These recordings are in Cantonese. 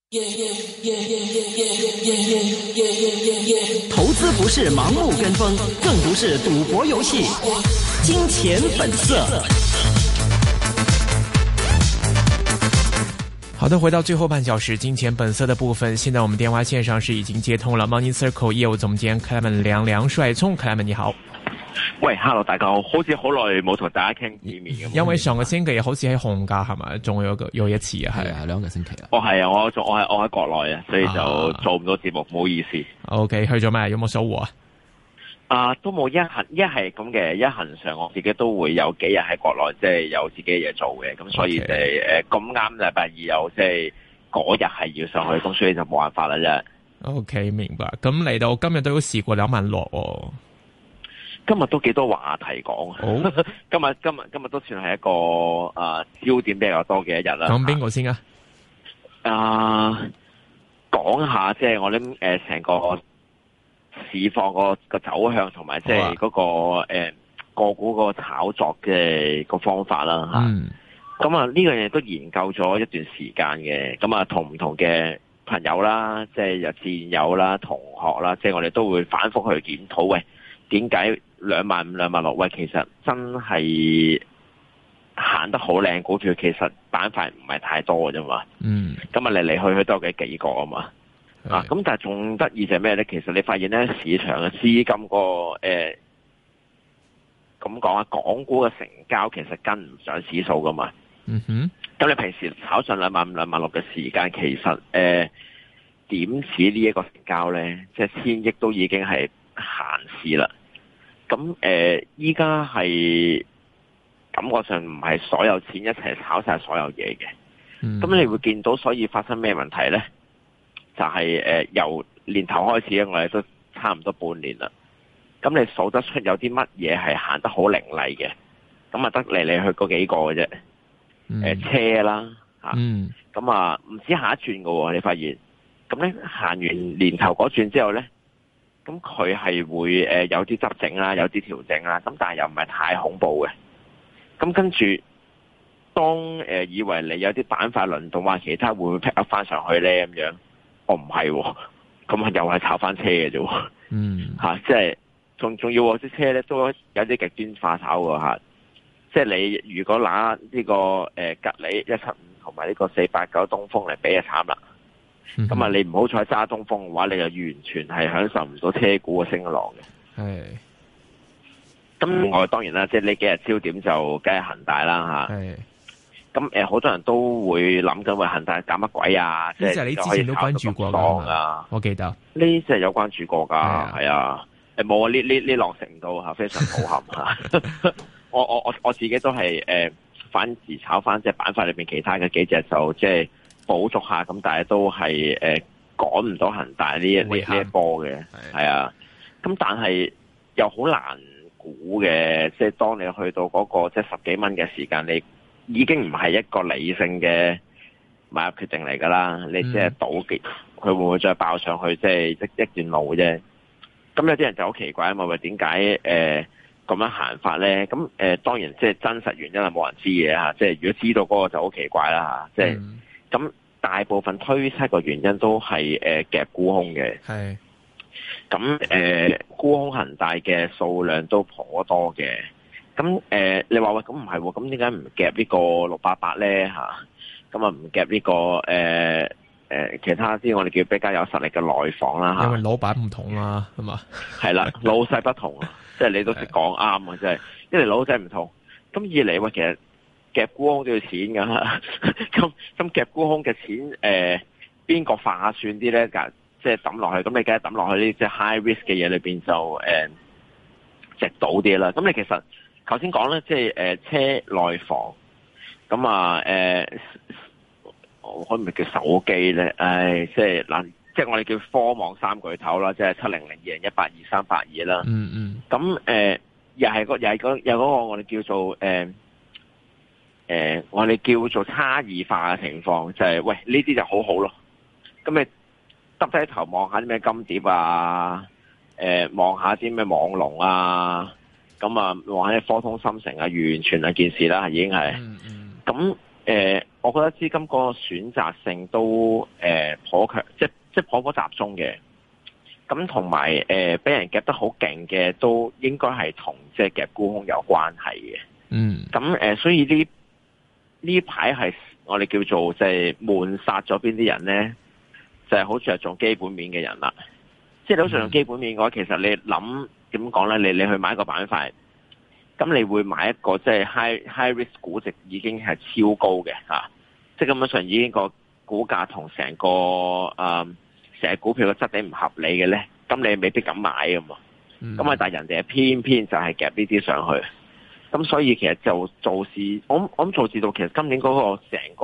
投資不是盲目跟風，更不是賭博遊戲。金錢本色。 好的，回到最後半小時金錢本色的部分。現在我們電話線上是已經接通了 Money Circle 業務總監 Clement 梁帥聰。Clement 你好。 喂 ，Hello， 大家好，好似好耐冇同大家傾見面咁。 因為上個星期好似喺紅假係咪？仲有一次啊，係啊，兩個星期啊。 係啊，我喺國內啊，所以就做唔到節目，唔好意思。 OK， 去咗咩？有冇收穫啊？ 都冇一係咁嘅，一行上我自己都會有幾日喺國內，即係有自己嘅嘢做嘅，咁所以咁啱禮拜二有即係嗰日係要上去，咁所以就冇辦法啦啫。 OK， 明白。咁嚟到今日都試過2萬落喎。 今日都幾多話題講，今日都算係一個焦點比較多嘅一日啦。 講邊個先啊？ 講下即係我諗成個市況個走向同埋即係嗰個個股個炒作嘅個方法啦嚇。咁呢樣嘢都研究咗一段時間嘅，咁同唔同嘅朋友啦，即係有戰友啦、同學啦，即係我哋都會反覆去檢討，喂，點解25000、26000？喂，其實真係行得好靚股票，其實板塊唔係太多嘅啫嘛。咁嚟嚟去去都有幾個啊嘛。咁但係仲得意就係咩咧？其實你發現咧，市場嘅資金咁講啊，港股嘅成交其實跟唔上指數噶嘛。咁你平時炒上25000、26000嘅時間，其實點似呢一個成交咧？即係1000億都已經係閒市啦。咁依家係感覺上唔係所有錢一齊炒晒所有嘢嘅。咁你會見到，所以發生咩問題咧？就係由年頭開始咧，我哋都差唔多半年啦。咁你數得出有啲乜嘢係行得好凌厲嘅？咁得嚟嚟去嗰幾個嘅啫。車啦咁唔止下一轉㗎喎，你發現。咁咧行完年頭嗰轉之後咧，咁佢係會有啲執整啦，有啲調整啦，咁但係又唔係太恐怖嘅。咁跟住，當以為你有啲板塊輪動，話其他會唔會 pick up 翻上去咧咁樣？我唔係喎，咁又係炒翻車嘅啫喎。即係仲要啲車咧都有啲極端化炒喎嚇。即係你如果拿呢個吉利175同埋呢個489東風嚟比就慘啦。咁你唔好彩揸東風嘅話，你就完全係享受唔到車股嘅升浪嘅。咁我當然啦，即係呢幾日焦點就梗係恒大啦嚇。咁好多人都會諗緊，喂，恒大搞乜鬼啊？即係你之前都關注過㗎，我記得呢隻有關注過㗎，係啊。冇啊，呢浪食唔到嚇，非常抱憾嚇。我自己都係反而炒翻即係板塊裏面其他嘅幾隻就即係補足下，咁但係都係趕唔到恒大呢一波嘅，係啊。咁但係又好難估嘅，即係當你去到嗰個即係10幾蚊嘅時間，你已經唔係一個理性嘅買入決定嚟㗎啦。你即係賭佢會唔會再爆上去，即係一段路啫。咁有啲人就好奇怪啊嘛，喂，點解咁樣行法咧？咁當然即係真實原因係冇人知嘅嚇。即係如果知道嗰個就好奇怪啦嚇。即係咁大部分推測個原因都係夾沽空嘅。咁沽空恒大嘅數量都頗多嘅。咁你話喂，咁唔係喎？咁點解唔夾呢個688咧嚇？咁唔夾呢個其他啲我哋叫比較有實力嘅內房啦嚇。因為老闆唔同啦，係嘛？ 係啦，老細不同啊，即係你都識講啱啊，即係一嚟老細唔同，咁二嚟喂，其實夾沽空都要錢㗎。咁夾沽空嘅錢邊個划算啲咧？即係抌落去，咁你梗係抌落去呢啲即係 high risk 嘅嘢裏邊就值到啲啦。咁你其實頭先講咧，即係車內房，咁可唔可以叫手機咧？即係嗱，即係我哋叫科網三巨頭啦，即係700、2018、2382啦。咁又係嗰個我哋叫做我哋叫做差異化嘅情況，就係喂呢啲就好好咯。咁你耷低頭望下啲咩金蝶啊，望下啲咩網龍啊，咁望下啲科通芯城啊，完全係件事啦，已經係。咁我覺得資金個選擇性都頗強，即頗頗集中嘅。咁同埋俾人夾得好勁嘅，都應該係同即係夾沽空有關係嘅。咁所以呢排係我哋叫做即係悶殺咗邊啲人咧，就係好着重基本面嘅人啦。即係你好着重基本面嘅話，其實你諗點講咧？你去買一個板塊，咁你會買一個即係 high risk 估值已經係超高嘅嚇，即係根本上已經個股價同成個成隻股票嘅質地唔合理嘅咧，咁你未必敢買㗎嘛。咁但係人哋偏偏就係夾呢啲上去，咁所以其實就做市，我諗做市到其實今年嗰個成個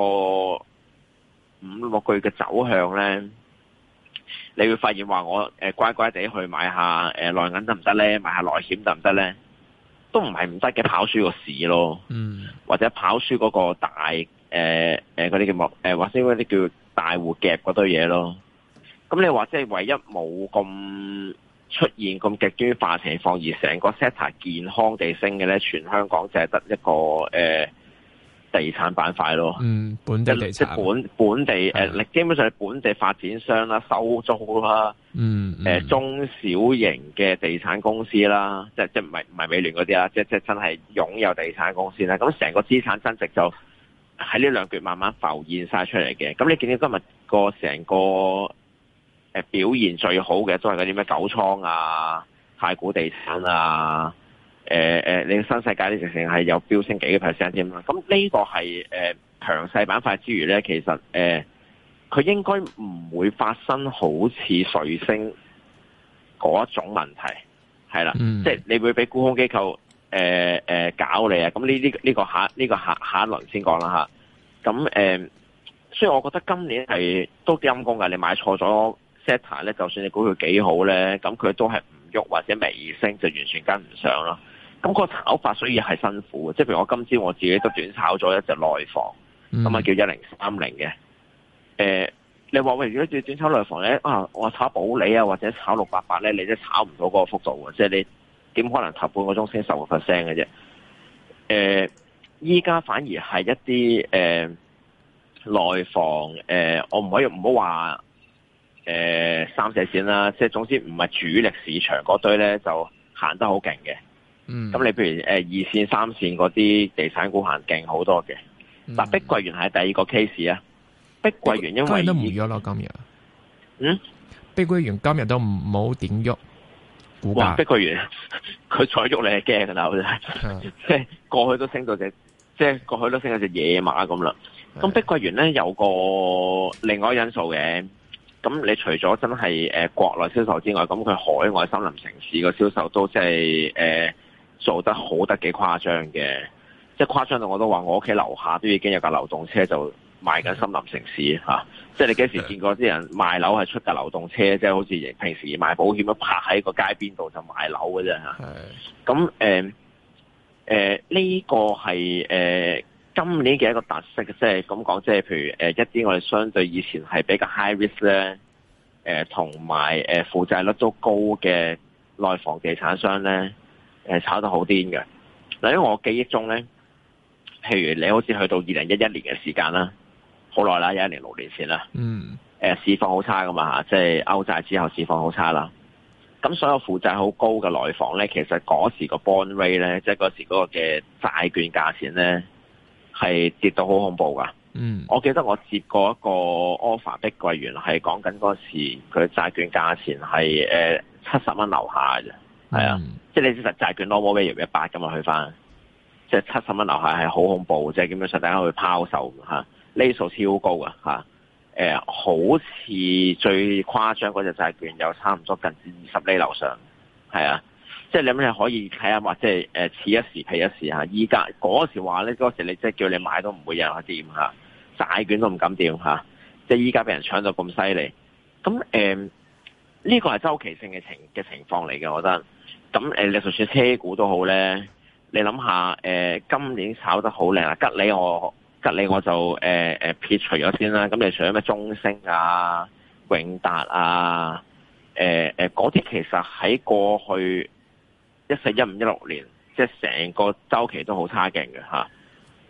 5-6個月嘅走向咧，你會發現話我乖乖地去買下內銀得唔得咧？買下內險得唔得咧？都唔係唔得嘅，跑輸個市咯，或者跑輸嗰個大嗰啲叫或者嗰啲叫大戶夾嗰堆嘢咯。咁你話即係唯一冇咁出現咁極端化情況，而成個 sector 健康地升嘅咧，全香港就係得一個地產板塊咯。 本地地產即係本地基本上係本地發展商啦、收租啦，中小型嘅地產公司啦，即係唔係美聯嗰啲啦，即係真係擁有地產公司啦。咁成個資產增值就喺呢兩橛慢慢浮現晒出嚟嘅。咁你見到今日個成個表現最好嘅都係嗰啲咩九倉啊、太古地產啊、你新世界呢直情係有飆升幾個 percent 添啦。咁呢個係強勢板塊之餘咧，其實佢應該唔會發生好似瑞星嗰一種問題，係啦，即係你會俾沽空機構搞你啊。咁呢個下一輪先講啦嚇。咁所以我覺得今年係都幾陰功㗎。你買錯咗 Sector 咧，就算你估佢幾好咧，咁佢都係唔喐或者微升，就完全跟唔上咯。咁個炒法所以係辛苦嘅，即係譬如我今朝我自己都短炒咗一隻內房，咁啊叫1030嘅。你話喂，如果要短炒內房咧，我炒保利啊或者炒688咧，你都炒唔到嗰個幅度嘅，即係你點可能頭半個鐘升10%嘅啫？依家反而係一啲內房我唔好話三四線啦，即係總之唔係主力市場嗰堆咧，就行得好勁嘅。咁你譬如2線、3線嗰啲地產股行勁好多嘅。但碧桂園係第二個 case 啊。碧桂園因為今日都唔喐咯，今日。碧桂園今日都冇點喐股價。碧桂園佢再喐你係驚噶啦，好似即係過去都升到隻野馬咁啦。咁碧桂園咧有個另外因素嘅。咁你除咗真係國內銷售之外，咁佢海外森林城市個銷售都即係做得好得幾誇張嘅，即係誇張到我都話我屋企樓下都已經有架流動車就賣緊森林城市嚇，即係你幾時見過啲人賣樓係出架流動車，即係好似平時賣保險咁泊喺個街邊度就賣樓嘅啫嚇。咁呢個係今年嘅一個特色，即係咁講，即係譬如一啲我哋相對以前係比較 high risk 咧，同埋負債率都高嘅內房地產商咧，炒得好癲嘅。嗱，因為我記憶中咧，譬如你好似去到2011年嘅時間啦，好耐啦，11年6年前啦，市況好差噶嘛，即係歐債之後市況好差啦。咁所有負債好高嘅內房咧，其實嗰時個 bond rate 咧，即係嗰時嗰個嘅債券價錢咧，係跌到好恐怖噶。我記得我接過一個 offer， 碧桂園係講緊嗰時佢債券價錢係70蚊樓下嘅啫，係啊，即係你知實債券 normal value 100咁啊，去翻即係70蚊樓下係好恐怖，即係基本上大家去拋售嚇，呢數超高噶嚇。好似最誇張嗰隻債券有差唔多近20厘樓上，係啊。即係你諗你可以睇下，或者係此一時彼一時嚇。依家嗰時話咧，嗰時你即係叫你買都唔會有人掂嚇，債券都唔敢掂嚇。即係依家俾人搶到咁犀利，咁呢個係周期性嘅情況嚟嘅，我覺得。咁你就算車股都好咧，你諗下今年炒得好靚啊！吉利我就撇除咗先啦。咁你除咗咩中升啊、永達啊、嗰啲其實喺過去14、15、16年，即係成個週期都好差勁嘅嚇。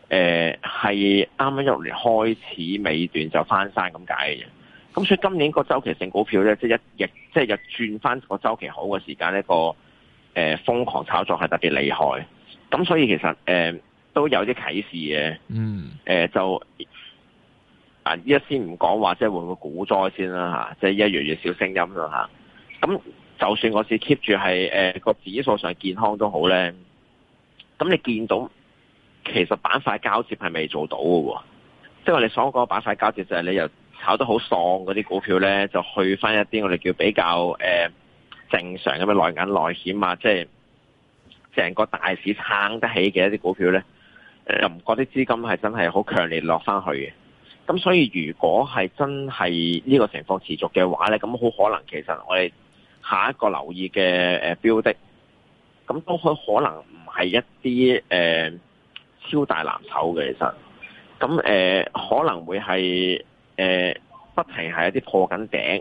係啱啱16年開始尾段就翻山咁解嘅啫。咁所以今年個周期性股票咧，即係即係轉翻個周期好嘅時間呢，個瘋狂炒作係特別厲害。咁所以其實都有啲啟示嘅。就依家先唔講話，即係會唔會股災先啦嚇，即係越少聲音啦嚇。咁就算個市 keep 住係個指數上健康都好咧，咁你見到其實板塊交接係未做到嘅喎，即係我哋所講嘅板塊交接就係你又炒得好喪嗰啲股票咧，就去翻一啲我哋叫比較正常咁嘅內銀內險啊，即係成個大市撐得起嘅一啲股票咧，又唔覺得資金係真係好強烈落翻去嘅。咁所以如果係真係呢個情況持續嘅話咧，咁好可能其實我哋下一個留意嘅標的，咁都可能唔係一啲超大藍籌嘅，其實咁可能會係不停係一啲破緊頂，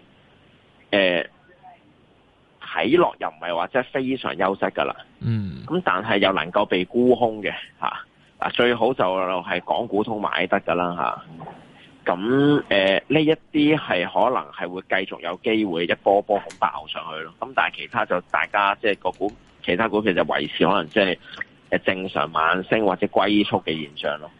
睇落又唔係話真係非常優質噶啦。咁但係又能夠被沽空嘅嚇，最好就係港股通買得噶啦嚇。咁呢一啲係可能係會繼續有機會一波波咁爆上去咯。咁但係其他就大家即係其他股票就維持可能即係正常慢升或者龜速嘅現象咯。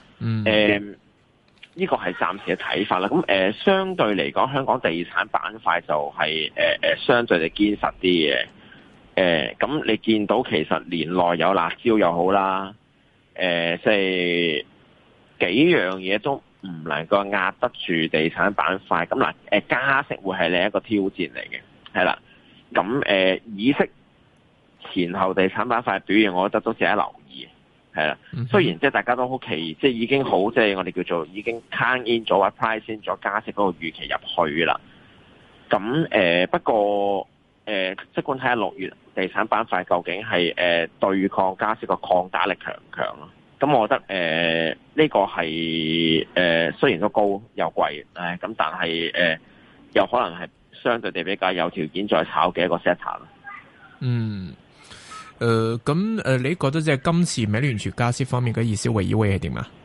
呢個係暫時嘅睇法啦。咁相對嚟講，香港地產板塊就係相對地堅實啲嘅。咁你見到其實年內有辣椒又好啦，即係幾樣嘢都唔能夠壓得住地產板塊。咁嗱，加息會係另一個挑戰嚟嘅，係啦。咁議息前後地產板塊表現，我覺得都值得留意，係啦。雖然即係大家都好奇，即係已經好，即係我哋叫做已經 count in 咗或 price in 咗加息嗰個預期入去啦。咁不過即管睇下6月地產板塊究竟係對抗加息個抗打力強唔強咯？咁我覺得呢個係雖然都高又貴，咁但係有可能係相對地比較有條件再炒嘅一個 sector 咯。 咁你覺得即係今次美聯儲加息方面嘅意思會係點啊？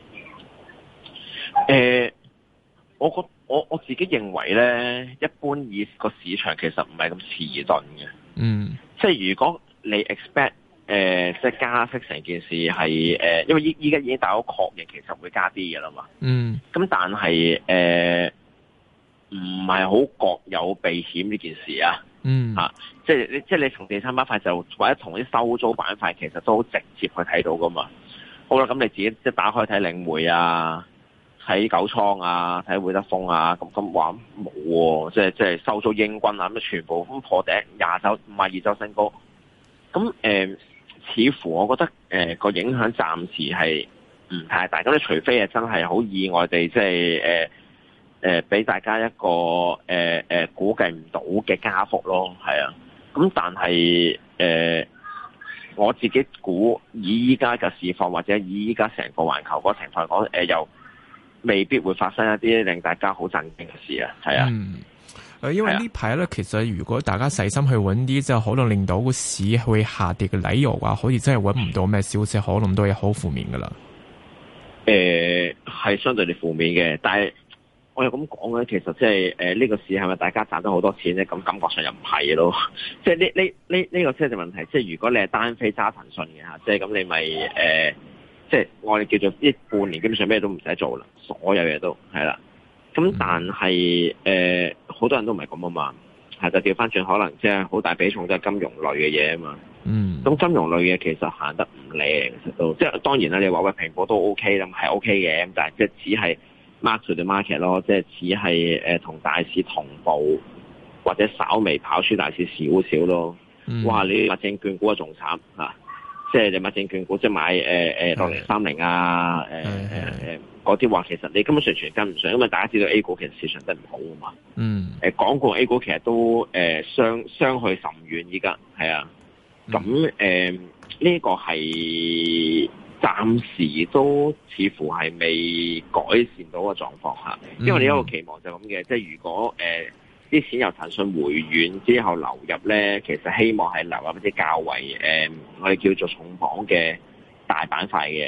我自己認為咧，一般以個市場其實唔係咁遲鈍嘅。即係如果你 expect 即係加息成件事係因為依家已經大家確認其實會加啲嘅啦嘛。咁但係唔係好覺有避險呢件事啊。即係你從地產板塊就或者同啲收租板塊其實都好直接去睇到噶嘛。好啦，咁你自己即係打開睇領匯啊，睇九倉啊，睇會德豐啊，咁話冇喎，即係收租英軍啊，咁全部咁破頂52周新高。咁似乎我覺得個影響暫時係唔太大。咁你除非係真係好意外地即係俾大家一個估計唔到嘅加幅咯，係啊。咁但係我自己估以依家嘅市況或者以依家成個環球嗰個情況嚟講，又未必會發生一啲令大家好震驚嘅事啊，係啊。 因為呢排咧，其實如果大家細心去揾啲，即係可能令到個市會下跌嘅理由嘅話，好似真係揾唔到咩消息，可能都係好負面噶啦。 係相對地負面嘅，但係我又咁講咧，其實即係呢個市係咪大家賺到好多錢咧？咁感覺上又唔係咯。即係呢個先係問題。即係如果你係單飛揸騰訊嘅嚇，即係咁你咪即係我哋叫做呢半年基本上咩都唔使做啦，所有嘢都係啦。咁但係好多人都唔係咁啊嘛，係就調翻轉，可能即係好大比重都係金融類嘅嘢啊嘛。咁金融類嘅其實行得唔靚，其實都即係當然啦。你話喂蘋果都 OK 啦，係 OK 嘅，咁但係即係只係 mark to the market 咯，即係只係同大市同步或者稍微跑輸大市少少咯。哇！你買證券股啊仲慘嚇，即係你買證券股即係買6030啊嗰啲話，其實你根本上全跟唔上，因為大家知道 A 股其實市場得唔好啊嘛。港股 A 股其實都相去甚遠，依家係啊。咁呢個係暫時都似乎係未改善到個狀況嚇，因為你一個期望就咁嘅，即係如果啲錢由騰訊回軟之後流入咧，其實希望係流入一啲較為我哋叫做重磅嘅大板塊嘅。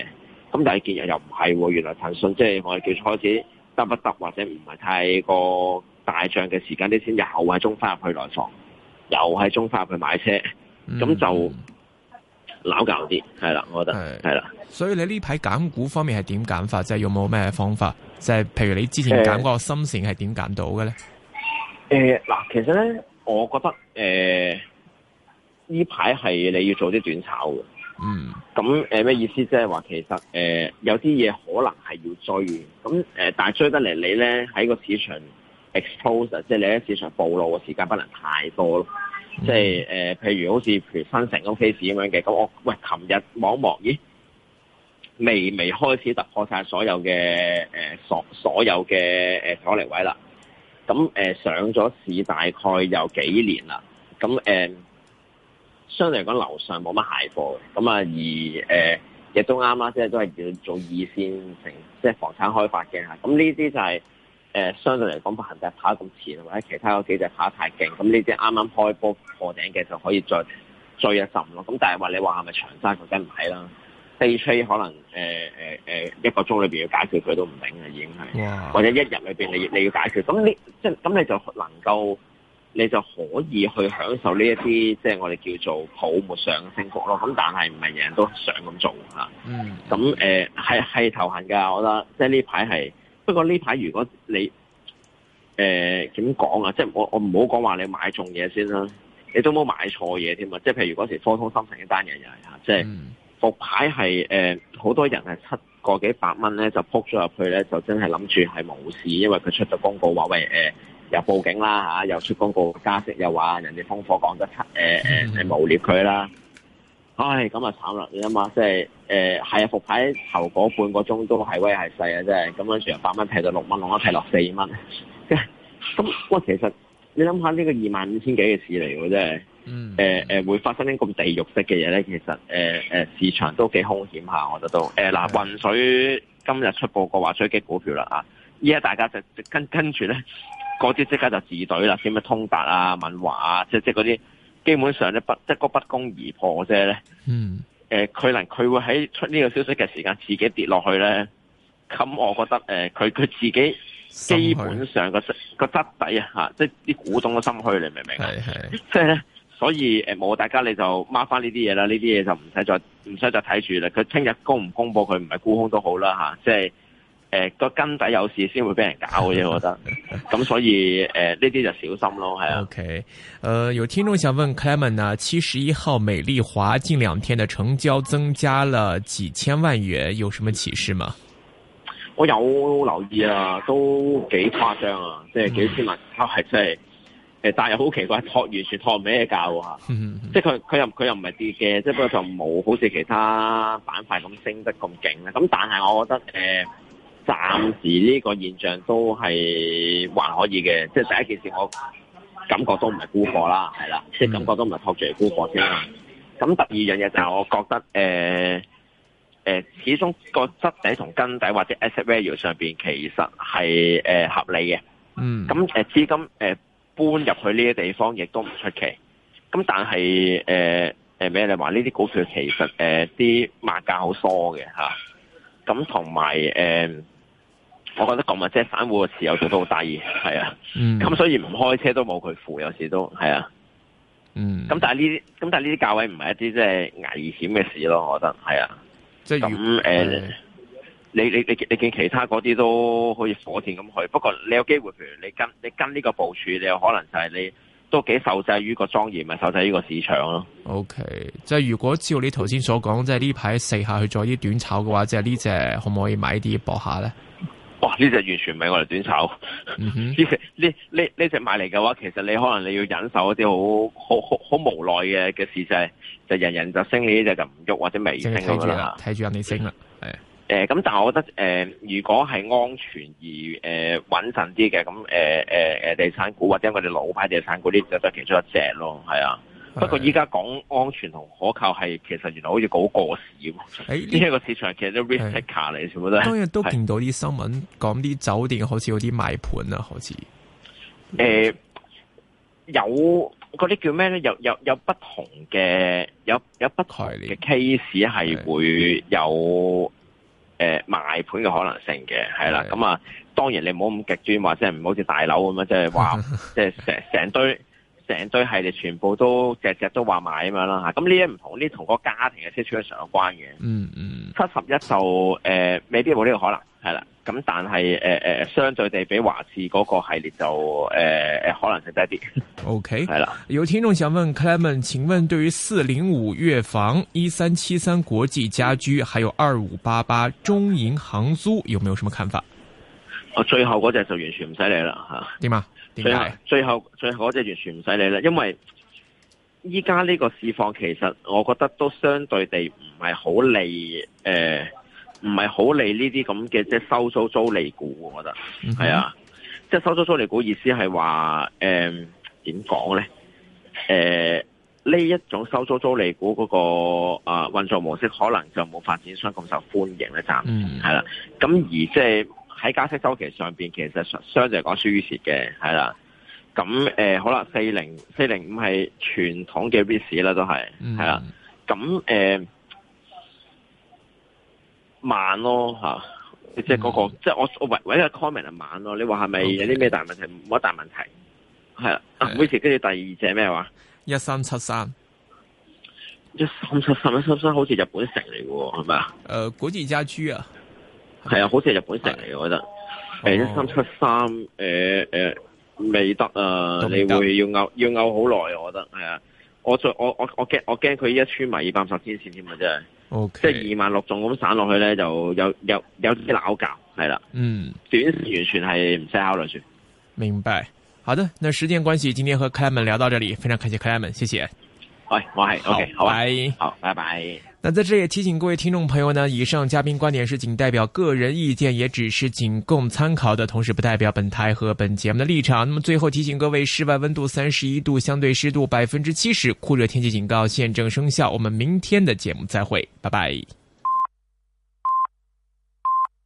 咁但係見日又唔係喎，原來騰訊即係我哋叫開始得不得或者唔係太過大漲嘅時間，啲錢又係中翻入去內房，又係中翻入去買車，咁就撈教啲，係啦，我覺得係啦。 所以你呢排揀股方面係點揀法？即係有冇咩方法？即係譬如你之前揀嗰個深線係點揀到嘅咧？ 嗱，其實咧，我覺得呢排係你要做啲短炒嘅。咁咩意思？即係話其實有啲嘢可能係要追，咁但係追得嚟你咧喺個市場 expose， 即係你喺市場暴露嘅時間不能太多咯。即係譬如好似譬如新城嗰 case 咁樣嘅，咁我琴日望一望，咦，未開始突破晒所有嘅所有嘅阻力位啦。咁上咗市大概有幾年啦。咁相對嚟講樓上冇乜蟹貨嘅，咁啊而亦都啱啦，即係都係要做二線城，即係房產開發嘅嚇。咁呢啲就係相對嚟講不恒大跑得咁前，或者其他嗰幾隻跑得太勁，咁呢啲啱啱開波破頂嘅就可以再追一陣咯。咁但係話你話係咪長揸，佢梗唔係啦。day trade 可能一個鐘裏邊要解決佢都唔頂嘅，已經係，或者一日裏邊你要解決，咁你就能夠。你就可以去享受呢一啲即係我哋叫做泡沫上嘅升幅咯。咁但係唔係人人都想咁做嚇。咁係頭痕㗎，我覺得即係呢排係。不過呢排如果你點講啊？即係我唔好講話你買中嘢先啦，你都冇買錯嘢添啊！即係譬如嗰時科通芯城呢單嘢又係嚇，即係復牌係好多人係7個幾百蚊咧就撲咗入去咧，就真係諗住係冇事，因為佢出咗公告話喂又報警啦嚇，又出公告加息，又話人哋通貨講得係誣蔑佢啦。唉，咁啊慘啦！你諗下，即係係啊，復牌頭嗰半個鐘都係威係勢啊，真係咁樣由8蚊劈到6蚊，6蚊劈落4蚊。咁哇，其實你諗下呢個25,000幾嘅市嚟喎，真係會發生啲咁地獄式嘅嘢咧，其實市場都幾兇險下，我覺得都嗱，渾水今日出報告話追擊股票啦啊！依家大家就跟住咧。嗰啲即刻就自隊啦，啲咩通達啊、敏華啊，即嗰啲基本上咧即個不攻而破啫咧。佢會喺出呢個消息嘅時間自己跌落去咧，咁我覺得佢自己基本上個質底啊嚇，即啲股東嘅心虛，你明唔明啊？即係咧，所以冇大家你就 mark 翻呢啲嘢啦，呢啲嘢就唔使再睇住啦。佢聽日公唔公佈佢唔係沽空都好啦嚇，即係。個根底有事先會俾人搞嘅啫，我覺得。咁所以呢啲就小心咯，係啊。OK， 有聽眾想問 Clement 啊，71號美麗華近2天的成交增加了幾千萬元，有什麼啟示嗎？ 我有留意啊，都幾誇張啊，即係幾千萬，係真係但係又好奇怪，完全托唔起嘅價喎嚇。即係佢又唔係跌嘅，即係不過就冇好似其他板塊咁升得咁勁啦。咁但係我覺得暫時呢個現象都係還可以嘅，即係第一件事我感覺都唔係沽貨啦，係啦，即係感覺都唔係托住嚟沽貨先啦。咁第二樣嘢就係我覺得始終個質地同根底或者 asset value 上邊其實係合理嘅。咁資金搬入去呢啲地方亦都唔出奇。咁但係咩你話呢啲股票其實啲賣價好疏嘅嚇。咁同埋我覺得咁啊，即係散戶嘅持有度都好低，係啊。咁所以唔開車都冇佢負，有時都係啊。咁但係呢啲價位唔係一啲即係危險嘅事咯，我覺得係啊。即係咁你見其他嗰啲都好似火箭咁去，不過你有機會，譬如你跟呢個部署，你有可能就係你都幾受制於個莊嚴，咪受制於個市場咯。OK， 即係如果照你頭先所講，即係呢排試下去做啲短炒嘅話，即係呢隻可唔可以買啲搏下咧？哇！呢隻完全唔係我哋短炒。呢隻買嚟嘅話，其實你可能你要忍受一啲好無奈嘅事，就人人就升，呢隻就唔喐或者微升咁樣啦。睇住人哋升啦，係。咁但係我覺得如果係安全而穩陣啲嘅，咁地產股或者我哋老牌地產股呢，就係其中一隻咯，係啊。不過依家講安全同可靠係其實原來好似好過時咁。呢一個市場其實都 risk taker 嚟，全部都係。當然都見到啲新聞講啲酒店好似有啲賣盤啊，好似有嗰啲叫咩咧？有不同嘅有不同嘅 case 係會有賣盤嘅可能性嘅，係啦。咁啊，當然你唔好咁極端，或者係唔好似大樓咁樣，即係話即係成堆系列全部都隻都話買咁樣啦嚇。咁呢啲唔同，呢同個家庭嘅 situation 有關嘅。71就未必冇呢個可能，係啦。咁但係相對地比華智嗰個系列就可能性低啲。 OK， 係啦。 有聽眾想問 Clement， 請問對於405粵房、1373國際家居，還有2588中銀航租，有沒有什麼看法？ 最後嗰隻就完全唔使理啦嚇。 點啊？點解？最後嗰隻完全唔使理啦，因為依家呢個市況其實我覺得都相對地唔係好利唔係好利呢啲咁嘅即係收租租利股，我覺得係啊，即係收租租利股意思係話點講咧？呢一種收租租利股嗰個運作模式可能就冇發展商咁受歡迎咧，暫時係啦。咁而即係喺加息週期上邊，其實相對嚟講輸於蝕嘅，係啦。咁好啦，405係傳統嘅 REIT 啦，都係係啦。咁慢咯嚇，即係嗰個，即係我唯一嘅 comment 係慢咯。你話係咪有啲咩大問題？冇乜大問題，係啦。每次跟住第二隻咩話？1373好似日本城嚟嘅喎，係咪啊？ 國際家居啊， 係啊，好似係日本城嚟嘅，我覺得。1373未得啊，你會要拗好耐，我覺得係啊。我驚佢依一穿埋250天線添啊，真係。 Okay. 即係26仲咁散落去咧，就有啲拗撬，係啦。短線完全係唔使考慮住。 明白。好的，那時間關係，今天和 Clement 聊到這裡，非常感謝 Clement，謝謝。 喂，我係 OK， 好， 好， 拜拜。 那在這裡也提醒各位聽眾朋友呢，以上嘉賓觀點是僅代表個人意見，也只是僅供參考的，同時不代表本台和本節目的立場。那麼最後提醒各位，室外溫度31度，相對濕度70%，酷熱天氣警告現正生效。我們明天的節目再會，拜拜。